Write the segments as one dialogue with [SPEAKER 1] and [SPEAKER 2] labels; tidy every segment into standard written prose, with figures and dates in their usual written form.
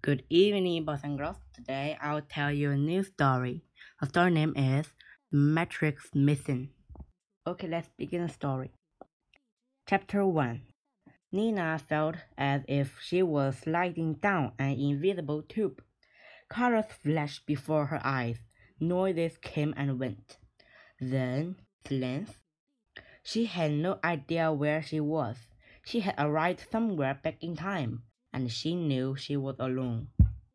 [SPEAKER 1] Good evening, boys and girls. Today I'll tell you a new story. The story name is The Matrix Missing. Okay, let's begin the story. Chapter 1. Nina felt as if she was sliding down an invisible tube. Colors flashed before her eyes. Noises came and went. Then, silence. She had no idea where she was. She had arrived somewhere back in time, and she knew she was alone.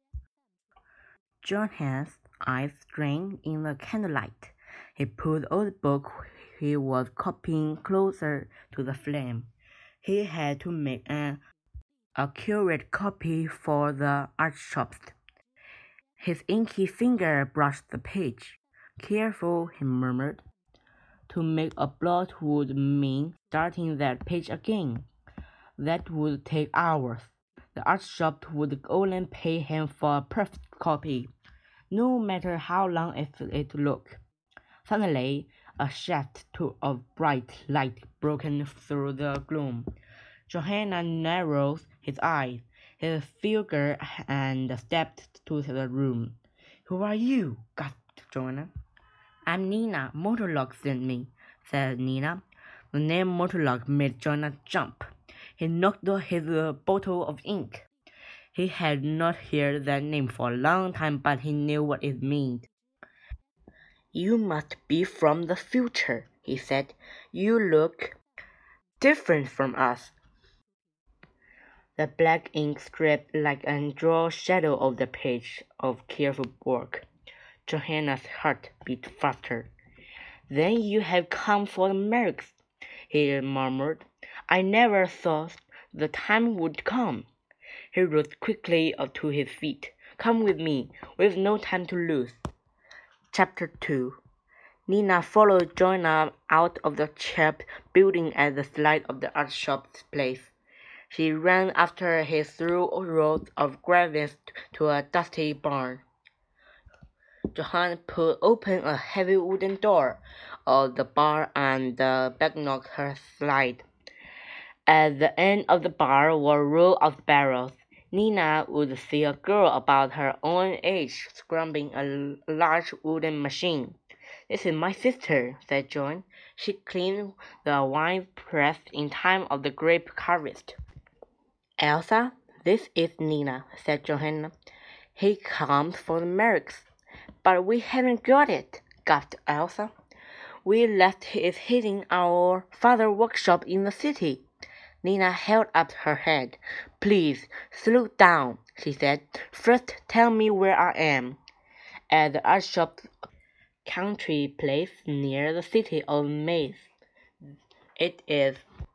[SPEAKER 1] Johan's eyes strained in the candlelight. He pulled the old book he was copying closer to the flame. He had to make an accurate copy for the archbishop. His inky finger brushed the page. Careful, he murmured. To make a blot would mean starting that page again. That would take hours. The archbishop would only pay him for a perfect copy, no matter how long it took. Suddenly, a shaft of bright light broke through the gloom. Johanna narrowed his eyes, his figure, and stepped to the room. "Who are you?" gasped Johanna. "I'm Nina. Mortlock sent me," said Nina. The name Mortlock made Johanna jump. He knocked his bottle of ink. He had not heard that name for a long time, but he knew what it meant. "You must be from the future," he said. "You look different from us." The black ink stripped like a draw shadow of the page of careful work. Johanna's heart beat faster. "Then you have come for the Mercs," he murmured. "I never thought the time would come." He rose quickly to his feet. "Come with me. We've no time to lose." Chapter 2. Nina followed Joanna out of the cheap building at the side of the archbishop's place. She ran after him through rows of gravels to a dusty barn. Johann pulled open a heavy wooden door of the barn and the backnocked her slide. At the end of the barn were rows of barrels. Nina would see a girl about her own age scrubbing a large wooden machine. "This is my sister," said Joan. "She cleaned the wine press in time of the grape harvest." "Elsa, this is Nina," said Johanna. "He comes for the Mercs." "But we haven't got it," gasped Elsa. "We left it hidden in our father's workshop in the city." Nina held up her head. "Please, slow down," she said. "First tell me where I am." "At the archbishop's country place near the city of Mainz. It is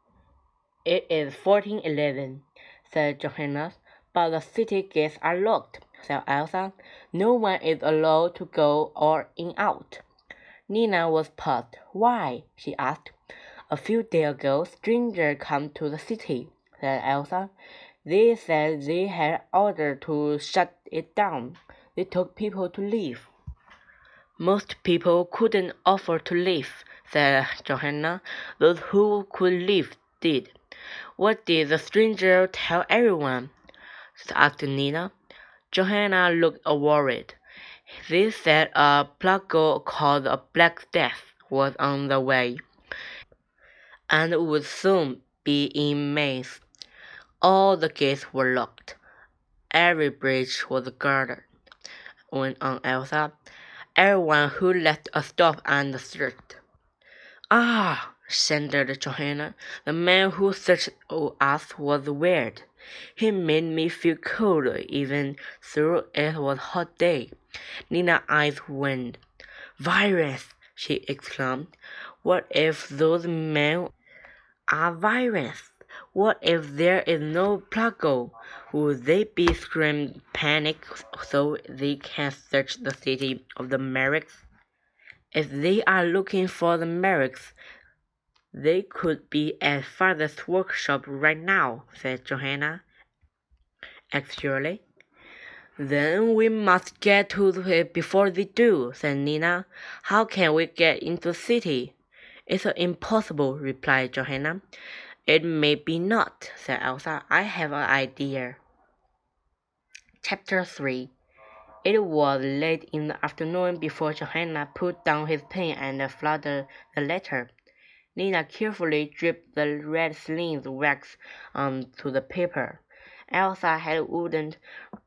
[SPEAKER 1] 1411, said Johanna. "But the city gates are locked," said Elsa. "No one is allowed to go or in out." Nina was puzzled. "Why?" she asked. "A few days ago, strangers came to the city," said Elsa. "They said they had orders to shut it down. They told people to leave." "Most people couldn't afford to leave," said Johanna. "Those who could leave did." "What did the stranger tell everyone?" asked Nina. Johanna looked worried. "They said a plague called the Black Death was on the way, and would soon be in Mainz. All the gates were locked. Every bridge was guarded," went on Elsa. "Everyone who left a stop and searched." "Ah!" thundered Johanna. "The man who searched us was weird. He made me feel cold even though it was a hot day." Nina's eyes widened. "Virus!" she exclaimed. "What if those men are virus? What if there is no plague? Would they be screaming panic so they can search the city of the Mercs? If they are looking for the Mercs, they could be at father's workshop right now," said Johanna. "Actually, then we must get to it before they do," said Nina. "How can we get into the city?" "It's impossible," replied Johanna. "It may be not," said Elsa. "I have an idea." Chapter 3. It was late in the afternoon before Johanna put down his pen and folded the letter. Nina carefully dripped the red slimed wax onto the paper. Elsa had wondered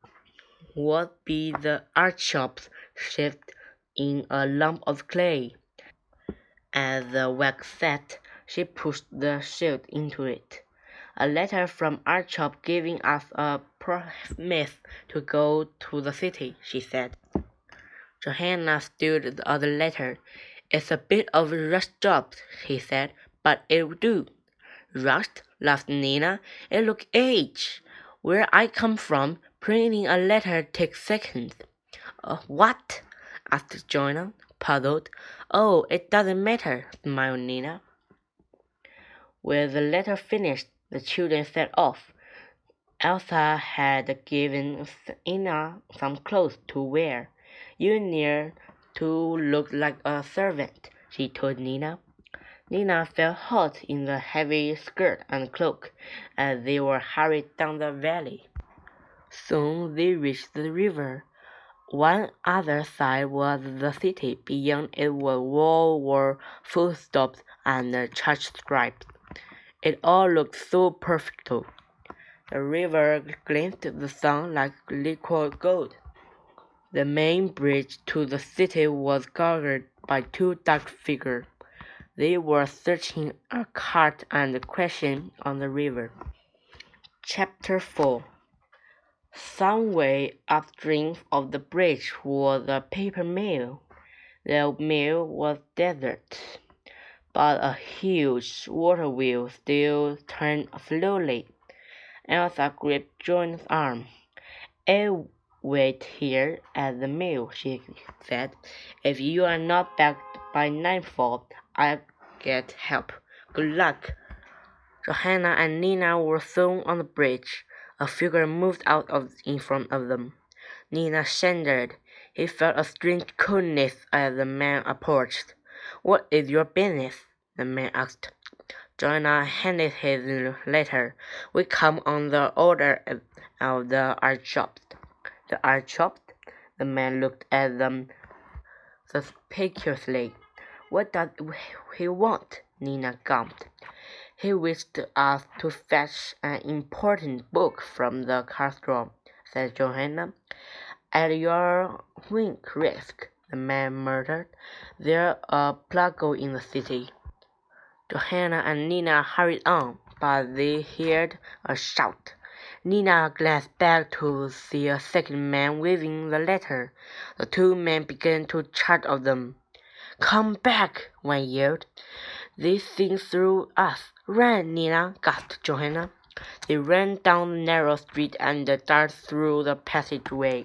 [SPEAKER 1] what be the archbishop's shift in a lump of clay. As the wax set, she pushed the shield into it. A letter from Archbishop giving us a promise to go to the city, she said. Johanna stood the other letter. It's a bit of a rushed job, he said, but it'll do. Rushed? Laughed Nina. It look age. Where I come from, printing a letter takes seconds. What? Asked Joanna, puzzled. Oh, it doesn't matter, smiled Nina. With the letter finished, the children set off. Elsa had given Ina some clothes to wear. You need to look like a servant, she told Nina. Nina felt hot in the heavy skirt and cloak as they were hurried down the valley. Soon they reached the river. One other side was the city. Beyond it were walls were footsteps and church stripes. It all looked so perfect. The river glinted in the sun like liquid gold. The main bridge to the city was guarded by two dark figures. They were searching a cart and crashing on the river. Chapter 4. Some way upstream of the bridge was a paper mill. The mill was desert, but a huge water wheel still turned slowly. Elsa gripped John's arm. I'll wait here at the mill, she said. If you are not back by nightfall, I'll get help. Good luck. Johanna and Nina were soon on the bridge. A figure moved out in front of them. Nina shuddered. He felt a strange coldness as the man approached. What is your business? The man asked. Johanna handed his letter. We come on the order of the Archbishop. The Archbishop? The man looked at them suspiciously. What does he want? Nina gulped. He wished us to fetch an important book from the castle, said Johanna. At your risk, the man muttered. There's a plague in the city. Johanna and Nina hurried on, but they heard a shout. Nina glanced back to see a second man waving the letter. The two men began to charge at them. Come back, one yelled. They think through us. Run, Nina, gasped Johanna. They ran down the narrow street and darted through the passageway.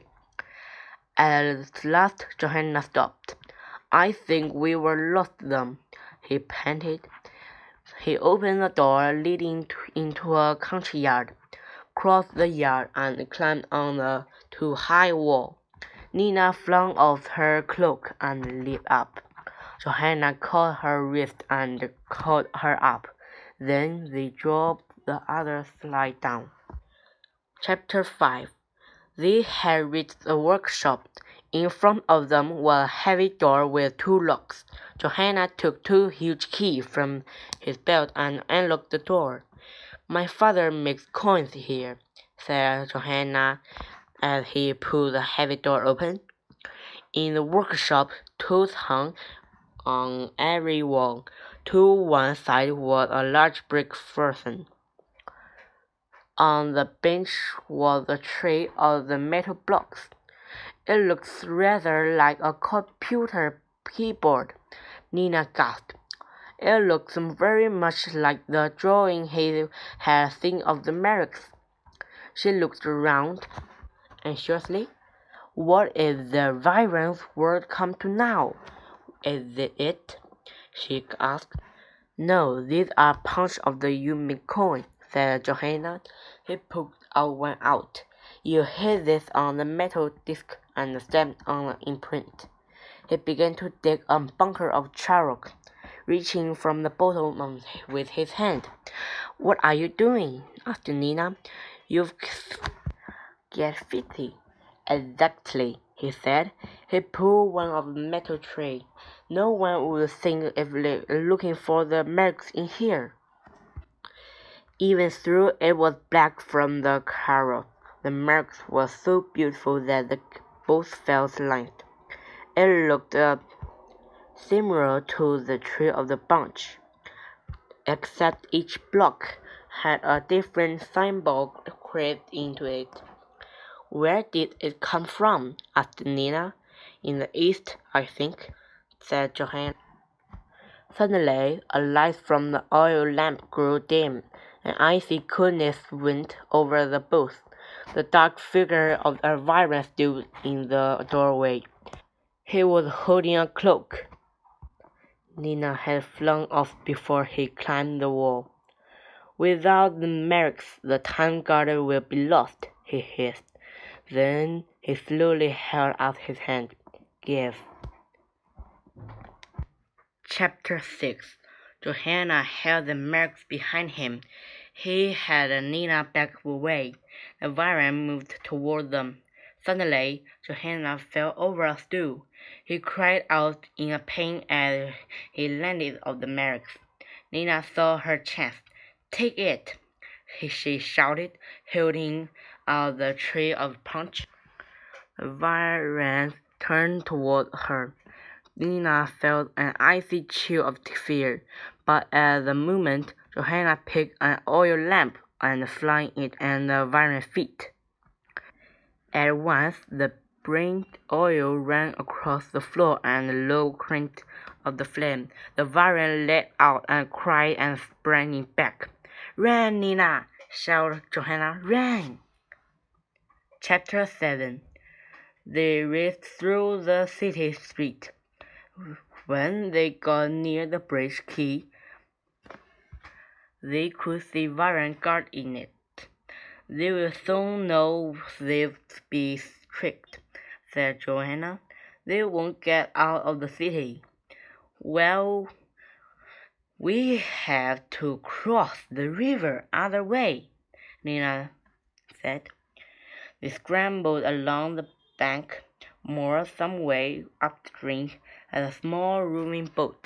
[SPEAKER 1] At last, Johanna stopped. I think we were lost them, he panted. He opened the door leading into a country yard, crossed the yard, and climbed on the too-high wall. Nina flung off her cloak and leaped up. Johanna caught her wrist and caught her up. Then they dropped the other slide down. Chapter 5. They had reached the workshop. In front of them was a heavy door with two locks. Johanna took two huge keys from his belt and unlocked the door. My father makes coins here, said Johanna as he pulled the heavy door open. In the workshop, tools hung on every wall. To one side was a large brick furnace. On the bench was a tray of the metal blocks. It looks rather like a computer keyboard, Nina gasped. It looks very much like the drawing he had seen of the Merricks. She looked around anxiously. What is the Viren's word come to now? Is it? She asked. No, these are punch of the Yumin coin, said Johanna. He pulled one out. You hit this on the metal disc and stamped on an imprint. He began to dig a bunker of charcoal, reaching from the bottom with his hand. What are you doing? Asked Nina. You've get 50. Exactly, he said. He pulled one of the metal tray. No one would think if looking for the marks in here. Even though it was black from the carrot, the marks were so beautiful that they both felt light. It looked similar to the tree of the bunch, except each block had a different symbol carved into it. Where did it come from? Asked Nina. In the east, I think, said Johanna. Suddenly, a light from the oil lamp grew dim. An icy coolness went over the both. The dark figure of Elvira stood in the doorway. He was holding a cloak. Nina had flung off before he climbed the wall. Without the marks, the Time Guarder will be lost, he hissed. Then he slowly held out his hand. Give. Chapter 6. Johanna held the marks behind him. He had Nina back away. The Elvira moved toward them. Suddenly, Johanna fell over a stool. He cried out in pain as he landed on the marks. Nina saw her chance. Take it, she shouted, holding out the tray of punch. The Elvira turned toward her. Nina felt an icy chill of fear, but at the moment, Johanna picked an oil lamp and flung it at the Elvira's feet. At once, the burnt oil ran across the floor and the low cracked of the flame. The Elvira let out a cry and sprang back. Run, Nina! shouted Johanna. Run! Chapter 7. They raced through the city street. When they got near the bridge quay, they could see Elvira guard in it. They will soon know they'll be tricked, said Johanna. They won't get out of the city. Well, we have to cross the river other way, Nina said. They scrambled along the bank, moored some way upstream at a small rowing boat.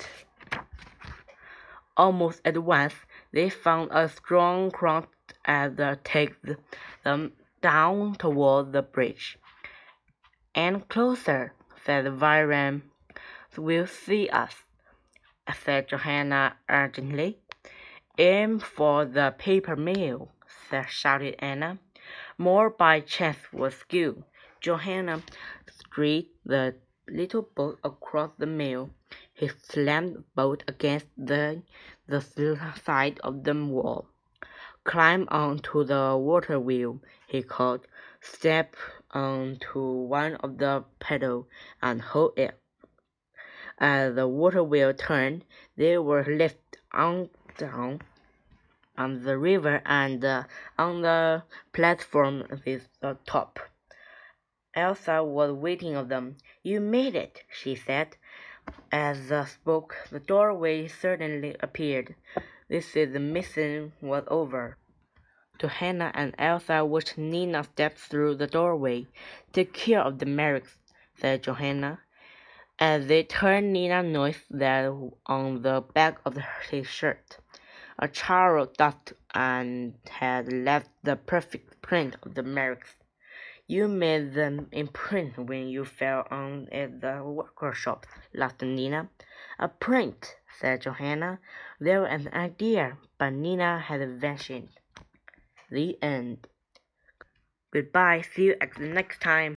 [SPEAKER 1] Almost at once, they found a strong current that take them down toward the bridge. And closer, said Elvira. Will see us, said Johanna urgently. Aim for the paper mill, shouted Anna. More by chance was skill. Johanna steered the little boat across the mill. He slammed the boat against the side of the wall. Climb onto the water wheel, he called. Step onto one of the pedals and hold it. As the water wheel turned, they were lifted down on the river and on the platform with the top. Elsa was waiting for them. You made it, she said. As they spoke, the doorway suddenly appeared. This is the mission was over. Johanna and Elsa watched Nina step through the doorway. Take care of the marks, said Johanna. As they turned, Nina noticed that on the back of his shirt, a charred dust and had left the perfect print of the marks. You made them imprint when you fell on at the workshop, laughed Nina. A print, said Johanna. There was an idea, but Nina had vanished. The end. Goodbye, see you at the next time.